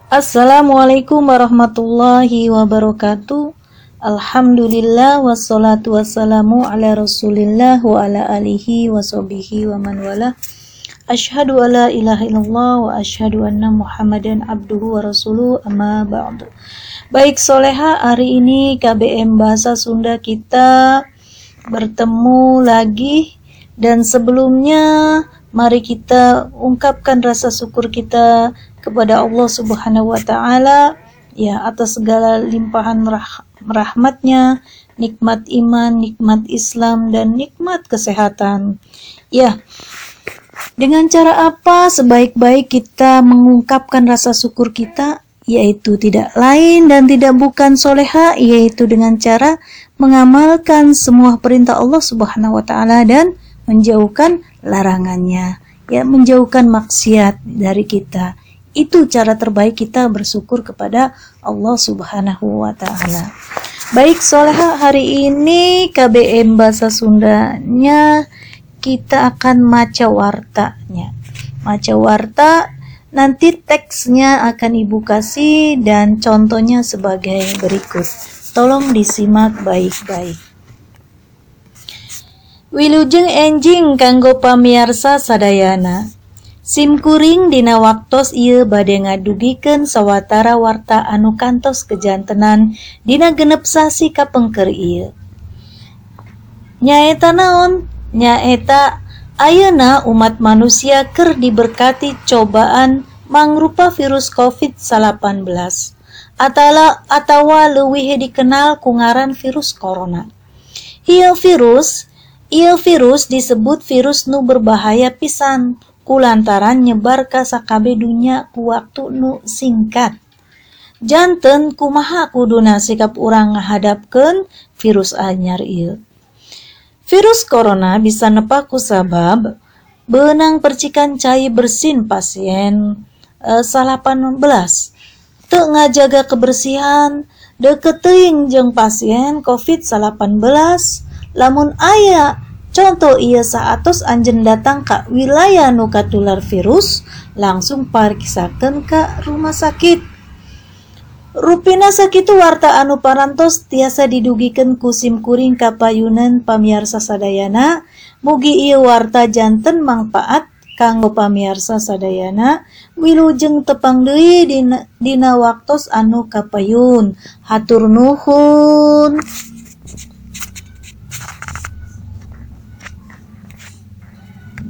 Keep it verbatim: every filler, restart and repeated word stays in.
Assalamualaikum warahmatullahi wabarakatuh. Alhamdulillah wassalatu wassalamu ala rasulillah wa ala alihi wa sahbihi wa man wala. Asyhadu alla ilaha illallah wa asyhadu anna muhammadan abduhu wa rasuluh, amma ba'du. Baik soleha, hari ini K B M Bahasa Sunda kita bertemu lagi, dan sebelumnya mari kita ungkapkan rasa syukur kita kepada Allah Subhanahu wa taala ya atas segala limpahan rah rahmatnya, nikmat iman, nikmat Islam, dan nikmat kesehatan. Ya, dengan cara apa sebaik-baik kita mengungkapkan rasa syukur kita? Yaitu tidak lain dan tidak bukan soleha, yaitu dengan cara mengamalkan semua perintah Allah Subhanahu wa taala dan menjauhkan larangannya, ya, menjauhkan maksiat dari kita. Itu cara terbaik kita bersyukur kepada Allah Subhanahu wa taala. Baik soleha, hari ini K B M Bahasa Sundanya kita akan maca wartanya. Maca warta, nanti teksnya akan Ibu kasih dan contohnya sebagai berikut. Tolong disimak baik-baik. Wilujeng enjing kanggo pamiarsa sadayana. Sim kuring dina waktos ieu bade ngadugikeun sawatara warta anu kantos kejantenan dina genep sasi kapengker ieu. Nyaeta naon? Nyaeta ayeuna umat manusia keur diberkati cobaan mangrupa virus covid delapan belas atala atawa leuwih dikenal ku ngaran virus corona. Ieu virus, ieu virus disebut virus nu berbahaya pisan kulantaran nyebar ka sakabe dunya ku waktu nu singkat. Janten kumaha kuduna sikap urang ngahadapkeun virus anyar ieu. Virus corona bisa nepa ku sabab beunang percikan cai bersin pasien e, delapan belas. Teu ngajaga kebersihan, deukeut teuing jeung pasien covid delapan belas. Lamun aya contoh ieu saatos anjeun datang ka wilayah nu katular virus, langsung pariksakeun ka rumah sakit. Rupina sakitu warta anu parantos tiasa didugikeun ku sim kuring kapayunan pamiarsa sadayana. Mugi ieu warta janten mangpaat kanggo pamiarsa sadayana. Wilujeng tepang deui dina, dina waktos anu kapayun. Hatur nuhun.